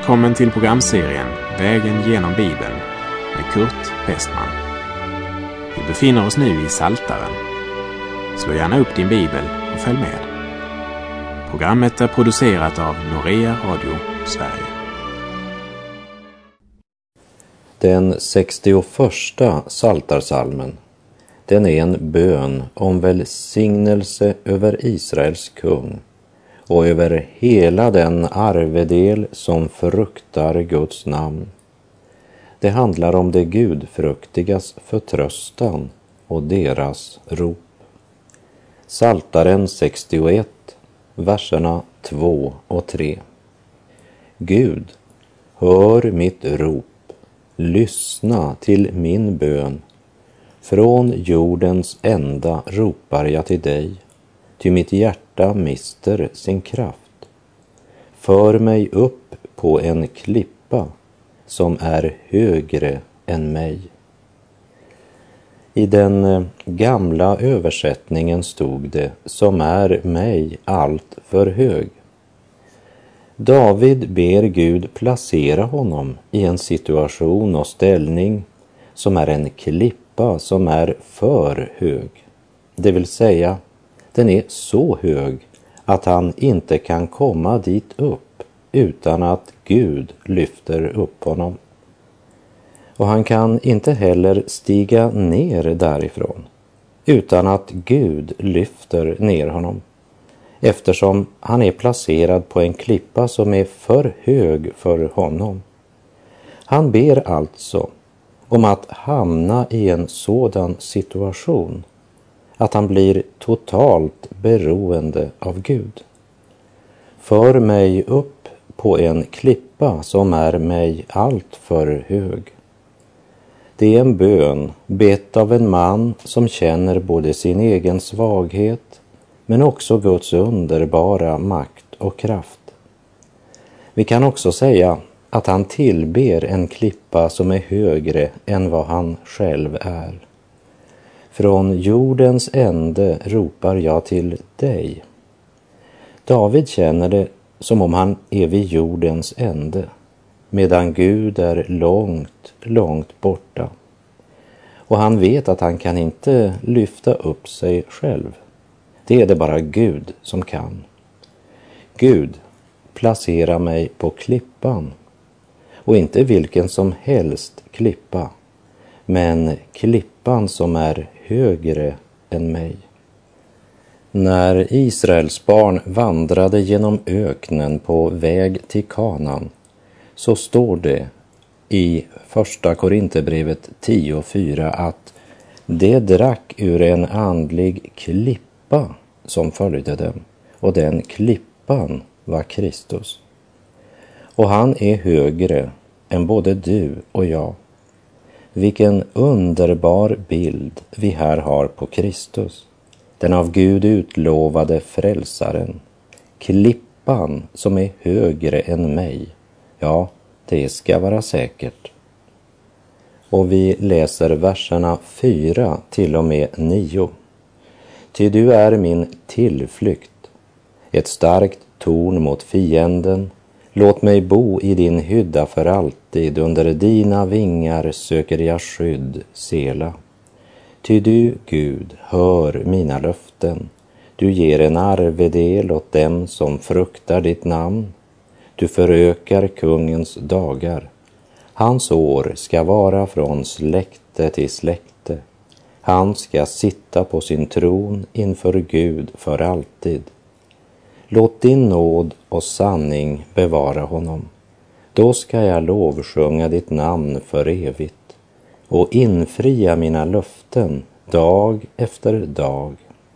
Välkommen till programserien Vägen genom Bibeln med Kurt Westman. Vi befinner oss nu i Psaltaren. Slå gärna upp din bibel och följ med. Programmet är producerat av Norea Radio Sverige. Den 61:a psaltarsalmen, den är en bön om välsignelse över Israels kung och över hela den arvedel som fruktar Guds namn. Det handlar om de gudfruktigas förtröstan och deras rop. Psaltaren 61, verserna 2 och 3. Gud, hör mitt rop, lyssna till min bön. Från jordens ända ropar jag till dig, ty mitt hjärta mister sin kraft. För mig upp på en klippa som är högre än mig. I den gamla översättningen stod det, som är mig allt för hög. David ber Gud placera honom i en situation och ställning som är en klippa som är för hög. Det vill säga, den är så hög att han inte kan komma dit upp utan att Gud lyfter upp honom. Och han kan inte heller stiga ner därifrån utan att Gud lyfter ner honom, eftersom han är placerad på en klippa som är för hög för honom. Han ber alltså om att hamna i en sådan situation att han blir totalt beroende av Gud. För mig upp på en klippa som är mig allt för hög. Det är en bön bett av en man som känner både sin egen svaghet men också Guds underbara makt och kraft. Vi kan också säga att han tillber en klippa som är högre än vad han själv är. Från jordens ände ropar jag till dig. David känner det som om han är vid jordens ände, medan Gud är långt, långt borta. Och han vet att han kan inte lyfta upp sig själv. Det är det bara Gud som kan. Gud, placera mig på klippan. Och inte vilken som helst klippa, men klippan som är högre än mig. När Israels barn vandrade genom öknen på väg till Kanaan, så står det i första Korinthierbrevet 10:4 att de drack ur en andlig klippa som följde dem, och den klippan var Kristus. Och han är högre än både du och jag. Vilken underbar bild vi här har på Kristus, den av Gud utlovade frälsaren, klippan som är högre än mig. Ja, det ska vara säkert. Och vi läser verserna 4 till och med 9. Ty du är min tillflykt, ett starkt torn mot fienden. Låt mig bo i din hydda för alltid, under dina vingar söker jag skydd, Sela. Ty du, Gud, hör mina löften. Du ger en arvedel åt dem som fruktar ditt namn. Du förökar kungens dagar. Hans år ska vara från släkte till släkte. Han ska sitta på sin tron inför Gud för alltid. Låt din nåd och sanning bevara honom. Då ska jag lovsjunga ditt namn för evigt och infria mina löften dag efter dag.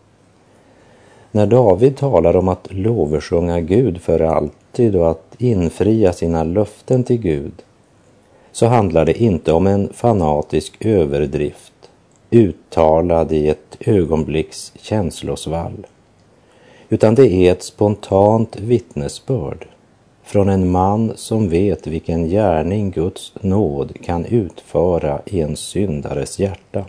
När David talar om att lovsjunga Gud för alltid och att infria sina löften till Gud, så handlar det inte om en fanatisk överdrift uttalad i ett ögonblicks känslosvall, utan det är ett spontant vittnesbörd från en man som vet vilken gärning Guds nåd kan utföra i en syndares hjärta.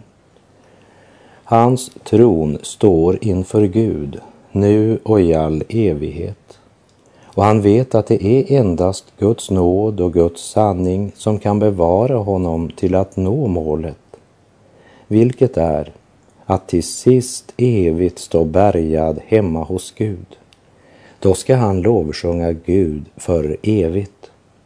Hans tron står inför Gud nu och i all evighet, Och han vet att det är endast Guds nåd och Guds sanning som kan bevara honom till att nå målet, vilket är att till sist evigt stå bärgad hemma hos Gud. Då ska han lovsjunga Gud för evigt.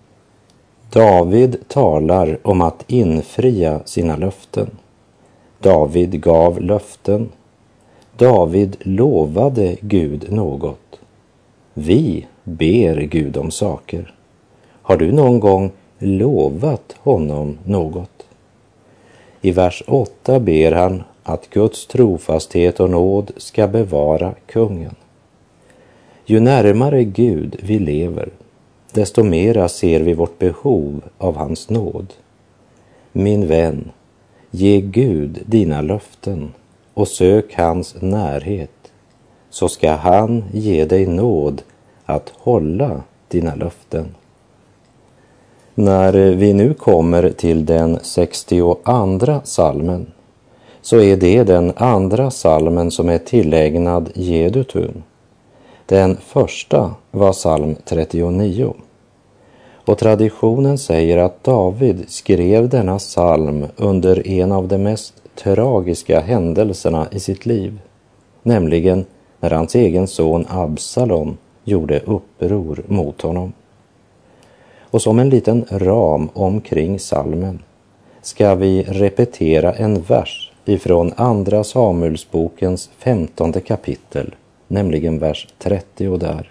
David talar om att infria sina löften. David gav löften. David lovade Gud något. Vi ber Gud om saker. Har du någon gång lovat honom något? I vers 8 ber han att Guds trofasthet och nåd ska bevara kungen. Ju närmare Gud vi lever, desto mera ser vi vårt behov av hans nåd. Min vän, ge Gud dina löften och sök hans närhet, så ska han ge dig nåd att hålla dina löften. När vi nu kommer till den 62:a salmen, så är det den andra salmen som är tillägnad Jedutun. Den första var psalm 39. Och traditionen säger att David skrev denna psalm under en av de mest tragiska händelserna i sitt liv, nämligen när hans egen son Absalom gjorde uppror mot honom. Och som en liten ram omkring psalmen ska vi repetera en vers ifrån andra Samuelsbokens 15:e kapitel, nämligen vers 30 där.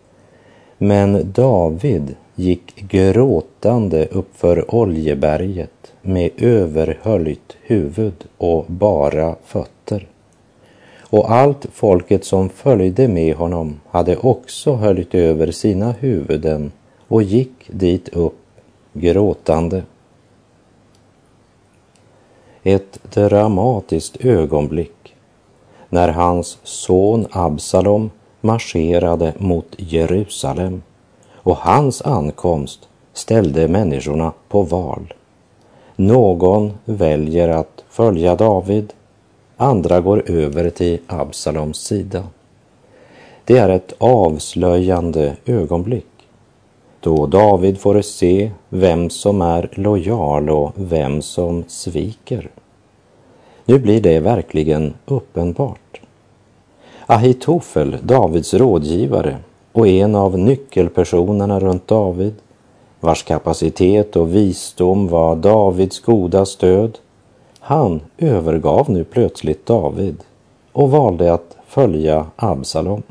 Men David gick gråtande uppför Oljeberget med överhöljt huvud och bara fötter. Och allt folket som följde med honom hade också höljt över sina huvuden och gick dit upp gråtande. Ett dramatiskt ögonblick när hans son Absalom marscherade mot Jerusalem, och hans ankomst ställde människorna på val. Någon väljer att följa David, andra går över till Absaloms sida. Det är ett avslöjande ögonblick, då David får se vem som är lojal och vem som sviker. Nu blir det verkligen uppenbart. Ahitofel, Davids rådgivare och en av nyckelpersonerna runt David, vars kapacitet och visdom var Davids goda stöd, han övergav nu plötsligt David och valde att följa Absalom.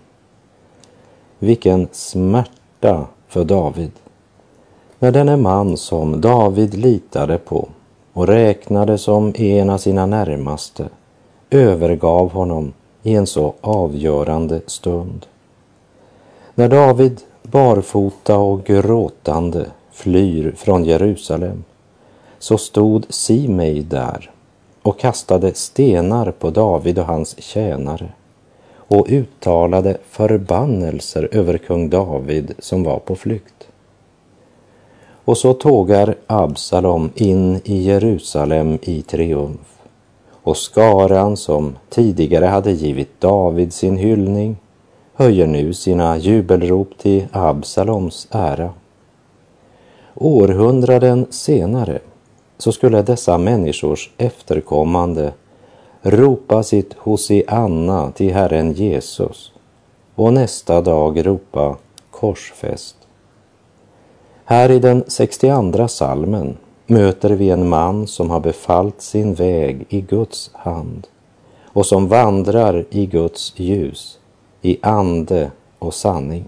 Vilken smärta för David, när denne man som David litade på och räknade som en av sina närmaste övergav honom i en så avgörande stund. När David barfota och gråtande flyr från Jerusalem, så stod Simei där och kastade stenar på David och hans tjänare och uttalade förbannelser över kung David som var på flykt. Och så tågar Absalom in i Jerusalem i triumf, och skaran som tidigare hade givit David sin hyllning höjer nu sina jubelrop till Absaloms ära. Århundraden senare så skulle dessa människors efterkommande ropa sitt Hosianna till Herren Jesus och nästa dag ropa korsfäst. Här i den 62:a salmen möter vi en man som har befallt sin väg i Guds hand och som vandrar i Guds ljus, i ande och sanning.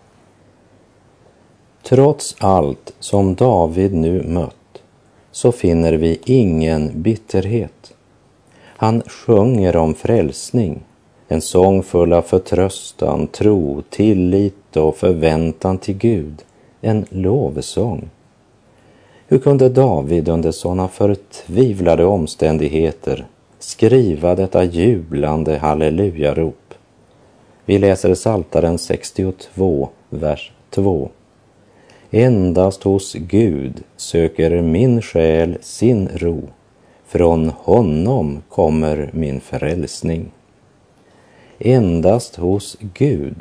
Trots allt som David nu mött så finner vi ingen bitterhet. Han sjunger om frälsning, en sång full av förtröstan, tro, tillit och förväntan till Gud, en lovsång. Hur kunde David under sådana förtvivlade omständigheter skriva detta jublande hallelujarop? Vi läser Psaltaren 62, vers 2. Endast hos Gud söker min själ sin ro, från honom kommer min frälsning. Endast hos Gud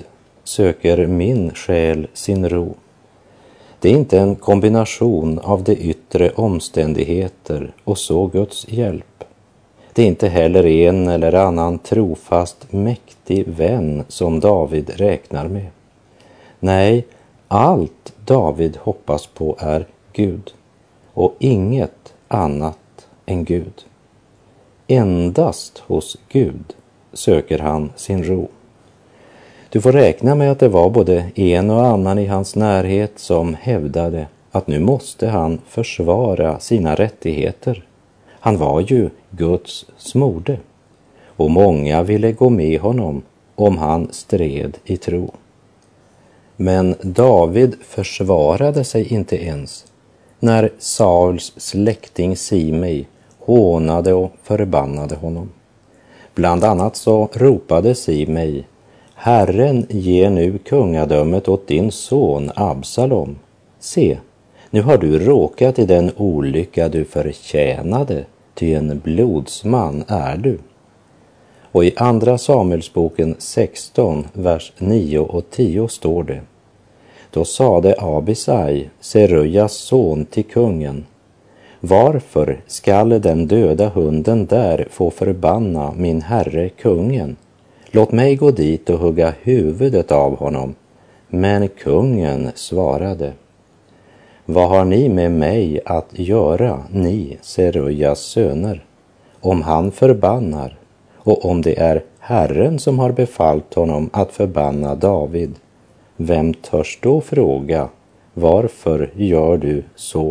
söker min själ sin ro. Det är inte en kombination av de yttre omständigheter och så Guds hjälp. Det är inte heller en eller annan trofast, mäktig vän som David räknar med. Nej, allt David hoppas på är Gud och inget annat än Gud. Endast hos Gud söker han sin ro. Du får räkna med att det var både en och annan i hans närhet som hävdade att nu måste han försvara sina rättigheter. Han var ju Guds smorde och många ville gå med honom om han stred i tro. Men David försvarade sig inte ens när Sauls släkting Simei hånade och förbannade honom. Bland annat så ropade Simei: Herren ger nu kungadömet åt din son Absalom. Se, nu har du råkat i den olycka du förtjänade, ty en blodsman är du. Och i andra Samuelsboken 16, vers 9 och 10 står det: Då sade Abisai, Serujas son, till kungen: Varför skall den döda hunden där få förbanna min herre kungen? Låt mig gå dit och hugga huvudet av honom. Men kungen svarade: Vad har ni med mig att göra, ni Serujas söner? Om han förbannar, och om det är Herren som har befallt honom att förbanna David, vem törs då fråga: Varför gör du så?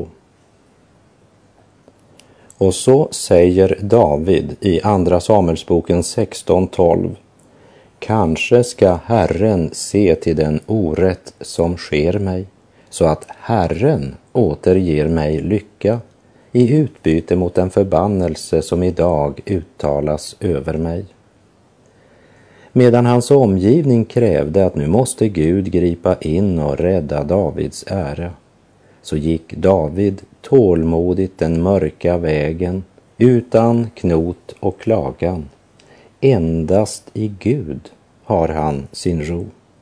Och så säger David i andra Samuelsboken 16:12: Kanske ska Herren se till den orätt som sker mig, så att Herren återger mig lycka i utbyte mot den förbannelse som idag uttalas över mig. Medan hans omgivning krävde att nu måste Gud gripa in och rädda Davids ära, så gick David tålmodigt den mörka vägen utan knot och klagan. Endast i Gud har han sin ro.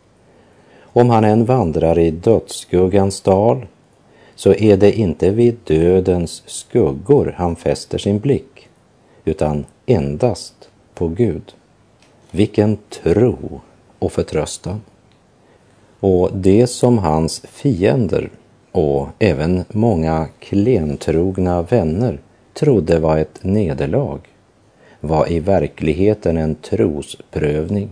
Om han än vandrar i dödsskuggans dal, så är det inte vid dödens skuggor han fäster sin blick, utan endast på Gud. Vilken tro och förtröstan! Och det som hans fiender och även många klentrogna vänner trodde var ett nederlag, var i verkligheten en trosprövning.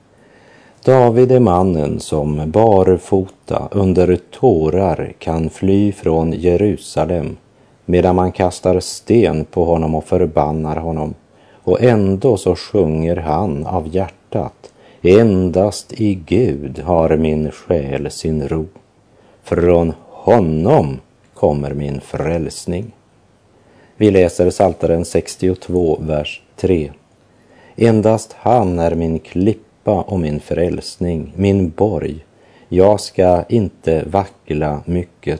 David är mannen som barfota under tårar kan fly från Jerusalem, medan man kastar sten på honom och förbannar honom. Och ändå så sjunger han av hjärtat: Endast i Gud har min själ sin ro. Från honom kommer min frälsning. Vi läser Psaltaren 62, vers 3. Endast han är min klippa och min frälsning, min borg. Jag ska inte vackla mycket.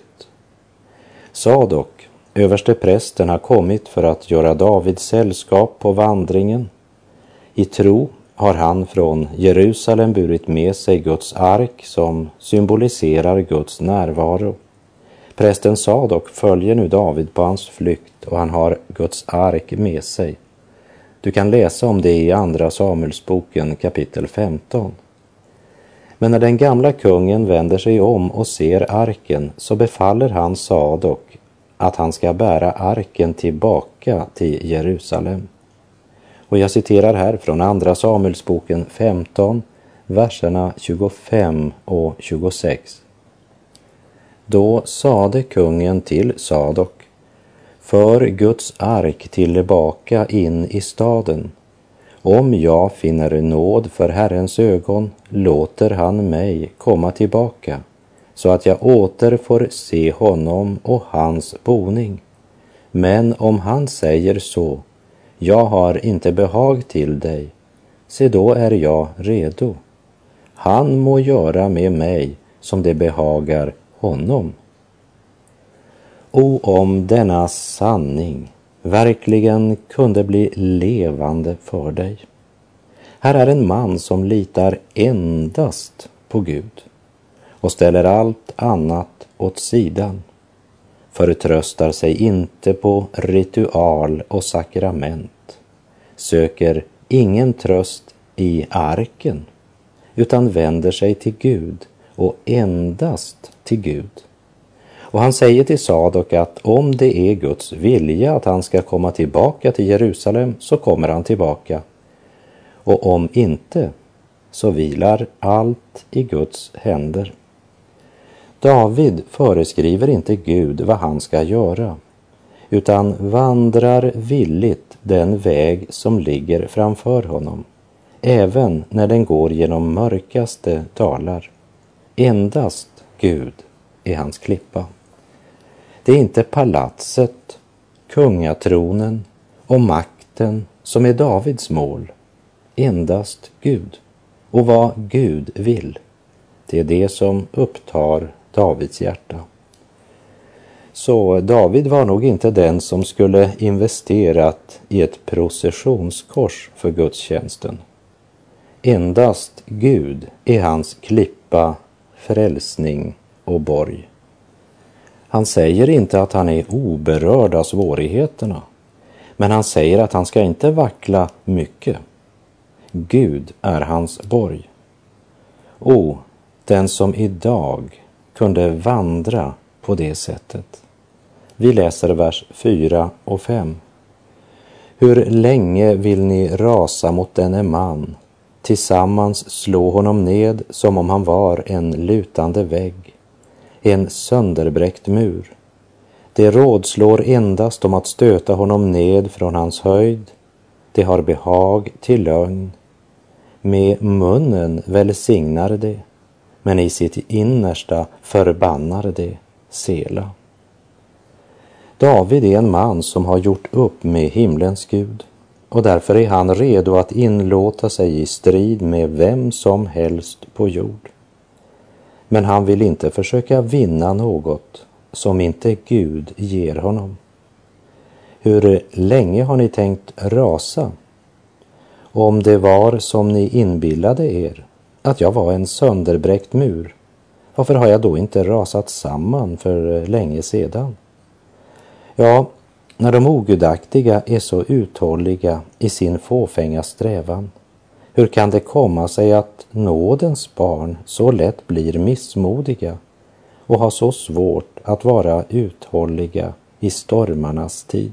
Sadok, översteprästen, har kommit för att göra Davids sällskap på vandringen. I tro har han från Jerusalem burit med sig Guds ark som symboliserar Guds närvaro. Prästen Sadok följer nu David på hans flykt och han har Guds ark med sig. Du kan läsa om det i andra Samuelsboken kapitel 15. Men när den gamla kungen vänder sig om och ser arken, så befaller han Sadok att han ska bära arken tillbaka till Jerusalem. Och jag citerar här från andra Samuelsboken 15, verserna 25 och 26. Då sade kungen till Sadok: För Guds ark tillbaka in i staden. Om jag finner nåd för Herrens ögon, låter han mig komma tillbaka, så att jag åter får se honom och hans boning. Men om han säger så: Jag har inte behag till dig, se då är jag redo. Han må göra med mig som det behagar honom. O, om denna sanning verkligen kunde bli levande för dig. Här är en man som litar endast på på Gud och ställer allt annat åt sidan, förtröstar sig inte på ritual och sakrament, söker ingen tröst i arken, utan vänder sig till Gud och endast till Gud. Och han säger till Sadok att om det är Guds vilja att han ska komma tillbaka till Jerusalem, så kommer han tillbaka. Och om inte, så vilar allt i Guds händer. David föreskriver inte Gud vad han ska göra, utan vandrar villigt den väg som ligger framför honom, även när den går genom mörkaste dalar. Endast Gud är hans klippa. Det är inte palatset, kungatronen och makten som är Davids mål. Endast Gud. Och vad Gud vill, det är det som upptar Davids hjärta. Så David var nog inte den som skulle investerat i ett processionskors för gudstjänsten. Endast Gud är hans klippa, frälsning och borg. Han säger inte att han är oberörd av svårigheterna, men han säger att han ska inte vackla mycket. Gud är hans borg. O, den som idag kunde vandra på det sättet. Vi läser vers 4 och 5. Hur länge vill ni rasa mot denne man, tillsammans slå honom ned som om han var en lutande vägg, en sönderbräckt mur. Det rådslår endast om att stöta honom ned från hans höjd. Det har behag till lögn. Med munnen välsignar det, men i sitt innersta förbannar det. Sela. David är en man som har gjort upp med himlens Gud, och därför är han redo att inlåta sig i strid med vem som helst på jord. Men han vill inte försöka vinna något som inte Gud ger honom. Hur länge har ni tänkt rasa? Om det var som ni inbillade er, att jag var en sönderbräckt mur, varför har jag då inte rasat samman för länge sedan? Ja, när de ogudaktiga är så uthålliga i sin fåfänga strävan, hur kan det komma sig att nådens barn så lätt blir missmodiga och har så svårt att vara uthålliga i stormarnas tid?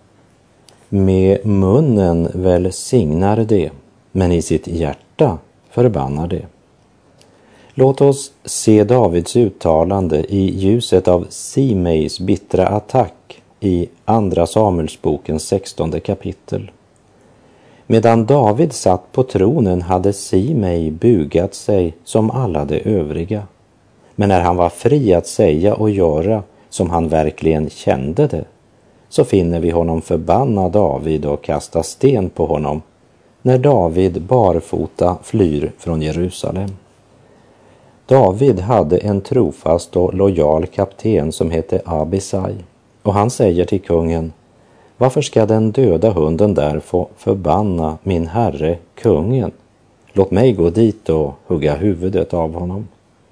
Med munnen välsignar det, men i sitt hjärta förbannar det. Låt oss se Davids uttalande i ljuset av Simeis bittra attack i Andra Samuelsbokens 16 kapitel. Medan David satt på tronen hade Simei bugat sig som alla de övriga. Men när han var fri att säga och göra som han verkligen kände det, så finner vi honom förbanna David och kasta sten på honom när David barfota flyr från Jerusalem. David hade en trofast och lojal kapten som hette Abisai, och han säger till kungen: varför ska den döda hunden där få förbanna min herre kungen? Låt mig gå dit och hugga huvudet av honom.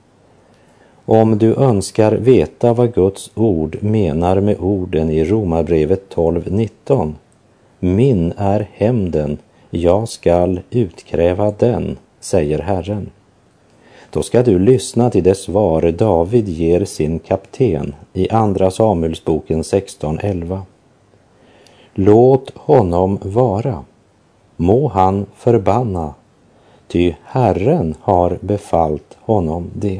Om du önskar veta vad Guds ord menar med orden i Romarbrevet 12:19, min är hämnden, jag skall utkräva den, säger Herren. Då ska du lyssna till det svar David ger sin kapten i Andra Samuelsboken 16:11. Låt honom vara, må han förbanna, ty Herren har befallt honom det.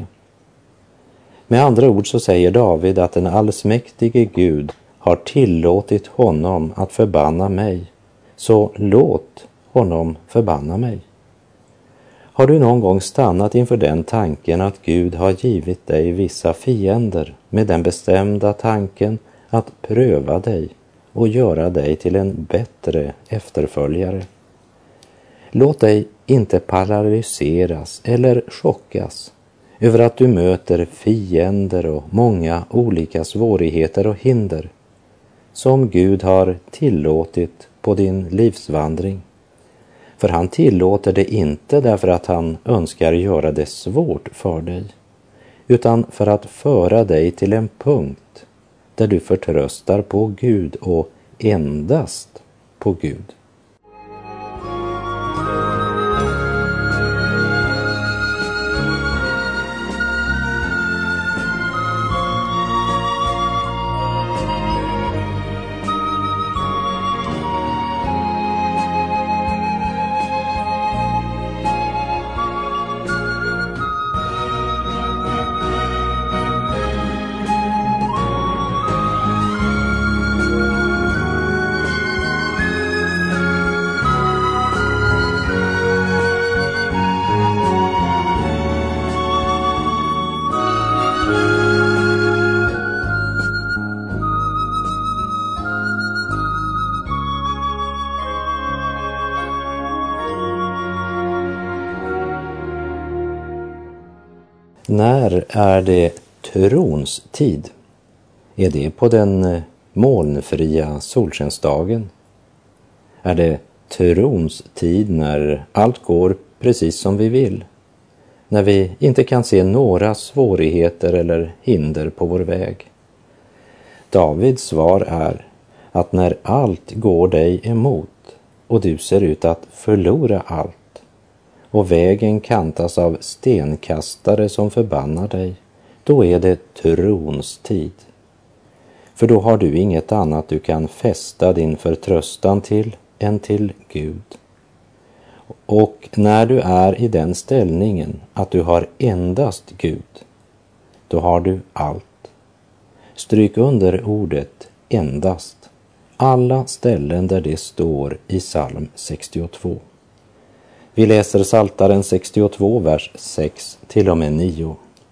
Med andra ord så säger David att den allsmäktige Gud har tillåtit honom att förbanna mig, så låt honom förbanna mig. Har du någon gång stannat inför den tanken att Gud har givit dig vissa fiender med den bestämda tanken att pröva dig och göra dig till en bättre efterföljare? Låt dig inte paralyseras eller chockas över att du möter fiender och många olika svårigheter och hinder som Gud har tillåtit på din livsvandring. För han tillåter det inte därför att han önskar göra det svårt för dig, utan för att föra dig till en punkt där du förtröstar på Gud och endast på Gud. När är det trons tid? Är det på den molnfria solskensdagen? Är det trons tid när allt går precis som vi vill? När vi inte kan se några svårigheter eller hinder på vår väg? Davids svar är att när allt går dig emot och du ser ut att förlora allt, och vägen kantas av stenkastare som förbannar dig, då är det trons tid. För då har du inget annat du kan fästa din förtröstan till än till Gud. Och när du är i den ställningen att du har endast Gud, då har du allt. Stryk under ordet endast, alla ställen där det står i psalm 62. Vi läser Psaltaren 62, vers 6 till och med 9.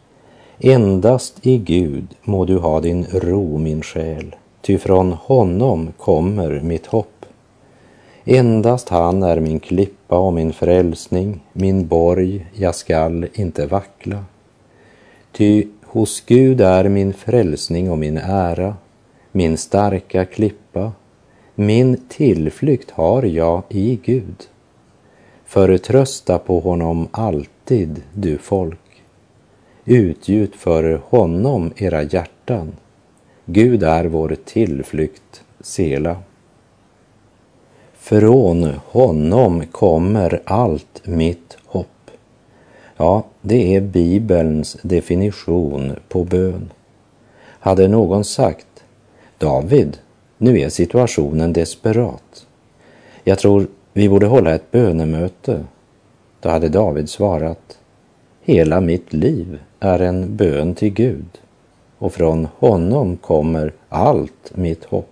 Endast i Gud må du ha din ro, min själ, ty från honom kommer mitt hopp. Endast han är min klippa och min frälsning, min borg, jag skall inte vackla. Ty hos Gud är min frälsning och min ära, min starka klippa, min tillflykt har jag i Gud. Förtrösta på honom alltid, du folk. Utgjut för honom era hjärtan. Gud är vår tillflykt, Sela. Från honom kommer allt mitt hopp. Ja, det är Bibelns definition på bön. Hade någon sagt, David, nu är situationen desperat. Jag tror vi borde hålla ett bönemöte. Då hade David svarat, hela mitt liv är en bön till Gud, och från honom kommer allt mitt hopp.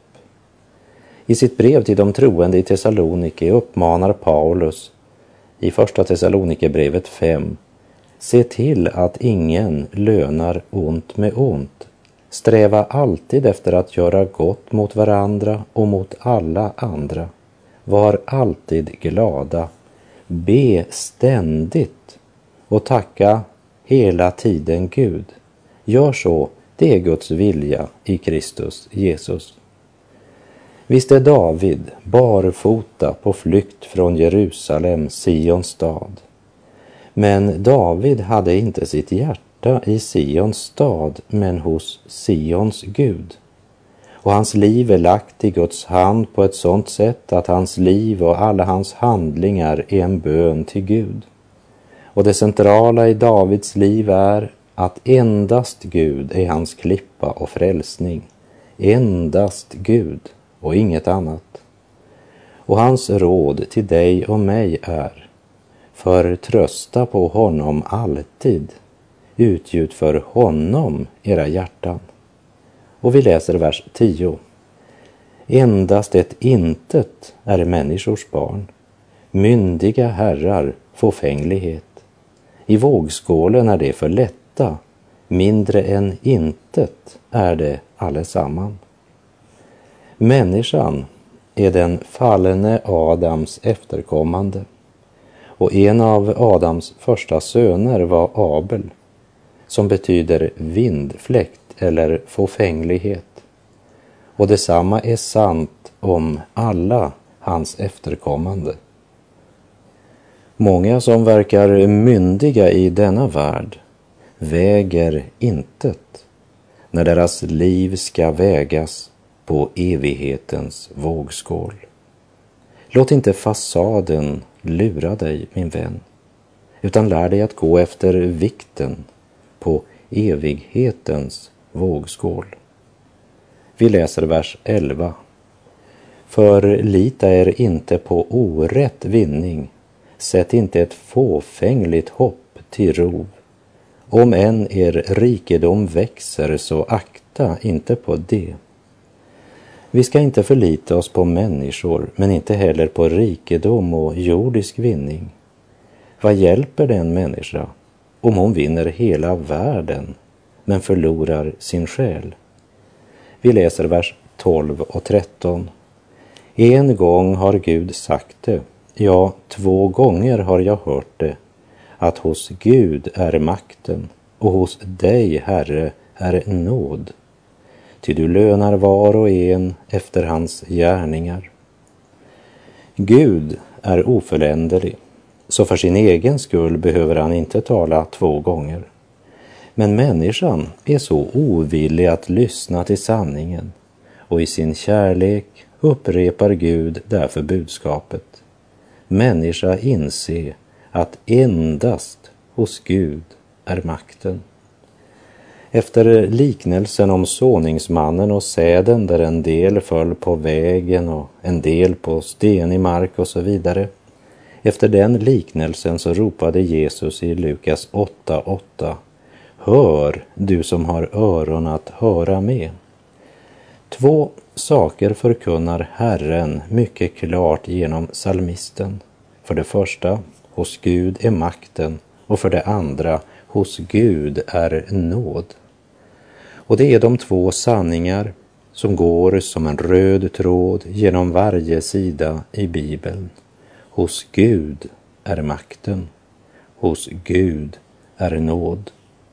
I sitt brev till de troende i Thessalonike uppmanar Paulus i första Thessalonikerbrevet 5, se till att ingen lönar ont med ont. Sträva alltid efter att göra gott mot varandra och mot alla andra. Var alltid glada, be ständigt och tacka hela tiden Gud. Gör så, det är Guds vilja i Kristus Jesus. Visst är David barfota på flykt från Jerusalem, Sions stad. Men David hade inte sitt hjärta i Sions stad, men hos Sions Gud. Och hans liv är lagt i Guds hand på ett sådant sätt att hans liv och alla hans handlingar är en bön till Gud. Och det centrala i Davids liv är att endast Gud är hans klippa och frälsning. Endast Gud och inget annat. Och hans råd till dig och mig är, förtrösta på honom alltid, utgjut för honom era hjärtan. Och vi läser vers 10. Endast ett intet är människors barn, myndiga herrar fåfänglighet. I vågskålen är det för lätta, mindre än intet är det allesamman. Människan är den fallne Adams efterkommande, och en av Adams första söner var Abel, som betyder vindfläkt eller fåfänglighet. Och detsamma är sant om alla hans efterkommande. Många som verkar myndiga i denna värld väger intet när deras liv ska vägas på evighetens vågskål. Låt inte fasaden lura dig, min vän, utan lär dig att gå efter vikten på evighetens vågskål. Vi läser vers 11. Förlita er inte på orätt vinning, sätt inte ett fåfängligt hopp till rov. Om än er rikedom växer, så akta inte på det. Vi ska inte förlita oss på människor, men inte heller på rikedom och jordisk vinning. Vad hjälper den människa om hon vinner hela världen men förlorar sin själ? Vi läser vers 12 och 13. En gång har Gud sagt det, ja, 2 gånger har jag hört det, att hos Gud är makten och hos dig, Herre, är nåd. Ty du lönar var och en efter hans gärningar. Gud är oföränderlig, så för sin egen skull behöver han inte tala 2 gånger. Men människan är så ovillig att lyssna till sanningen, och i sin kärlek upprepar Gud därför budskapet. Människa inse att endast hos Gud är makten. Efter liknelsen om såningsmannen och säden, där en del föll på vägen och en del på stenig mark och så vidare. Efter den liknelsen så ropade Jesus i Lukas 8:8: Hör, du som har öron att höra med. 2 saker förkunnar Herren mycket klart genom psalmisten. För det första, hos Gud är makten, och för det andra, hos Gud är nåd. Och det är de 2 sanningar som går som en röd tråd genom varje sida i Bibeln. Hos Gud är makten, hos Gud är nåd.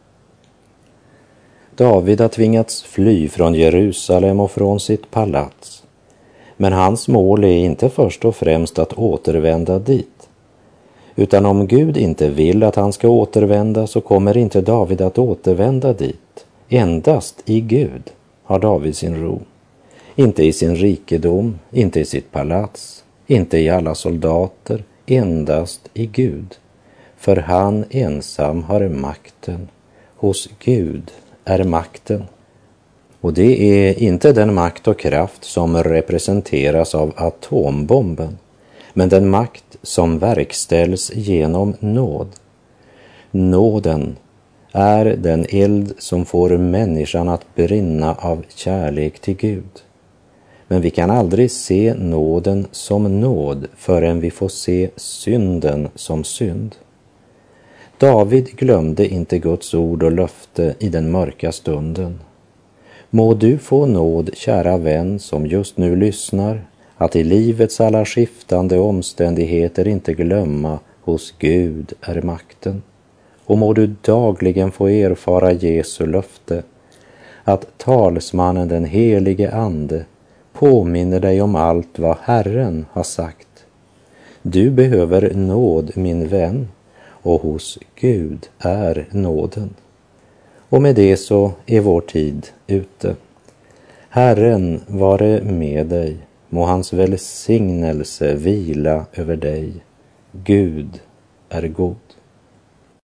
David har tvingats fly från Jerusalem och från sitt palats. Men hans mål är inte först och främst att återvända dit. Utan om Gud inte vill att han ska återvända, så kommer inte David att återvända dit. Endast i Gud har David sin ro. Inte i sin rikedom, inte i sitt palats, inte i alla soldater, endast i Gud. För han ensam har makten. Hos Gud är makten. Och det är inte den makt och kraft som representeras av atombomben, men den makt som verkställs genom nåd. Nåden är den eld som får människan att brinna av kärlek till Gud. Men vi kan aldrig se nåden som nåd förrän vi får se synden som synd. David glömde inte Guds ord och löfte i den mörka stunden. Må du få nåd, kära vän, som just nu lyssnar, att i livets alla skiftande omständigheter inte glömma hos Gud är makten. Och må du dagligen få erfara Jesu löfte, att talsmannen den helige Ande påminner dig om allt vad Herren har sagt. Du behöver nåd, min vän, och hos Gud är nåden. Och med det så är vår tid ute. Herren vare med dig, må hans välsignelse vila över dig. Gud är god.